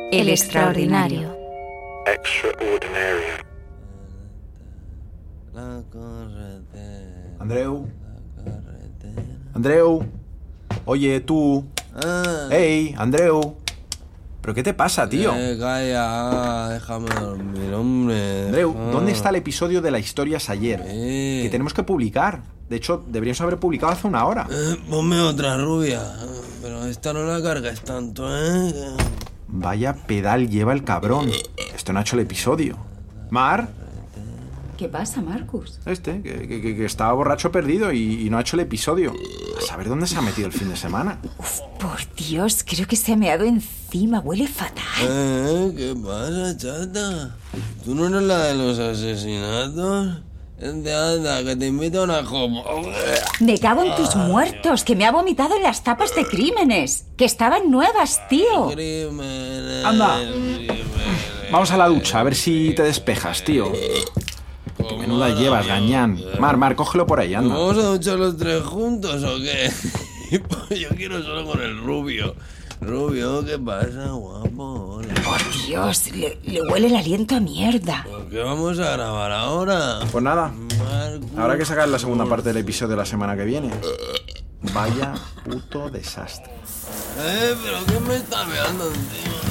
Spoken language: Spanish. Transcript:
El extraordinario. Extraordinario. Andreu. Oye, tú. Hey, Andreu. ¿Pero qué te pasa, tío? Calla, déjame dormir, hombre. Andreu, ¿dónde está el episodio de La historia es ayer? Que tenemos que publicar. De hecho, deberíamos haber publicado hace una hora. Ponme otra rubia. Pero esta no la cargas tanto, ¿eh? Vaya pedal lleva el cabrón. Esto no ha hecho el episodio. Mar, ¿Qué pasa, Marcus? que estaba borracho perdido y no ha hecho el episodio. A saber dónde se ha metido el fin de semana. Por Dios, creo que se ha meado encima. Huele fatal. ¿Qué pasa, chata? ¿Tú no eres la de los asesinatos? Anda, que te invito a una copa. Me cago en tus muertos, que me ha vomitado en las tapas de crímenes. Que estaban nuevas, tío. Crímenes. Anda. Vamos a la ducha, a ver si te despejas, tío. Qué menuda llevas, gañán. Mar, cógelo por ahí, anda. ¿Vamos a duchar los tres juntos o qué? Pues yo quiero solo con el rubio. Rubio, ¿qué pasa, guapo? Hola. Por Dios, le huele el aliento a mierda. ¿Por qué vamos a grabar ahora? Pues nada, Marcus. habrá que sacar la segunda parte del episodio de la semana que viene. Vaya puto desastre. Pero ¿qué me está meando encima?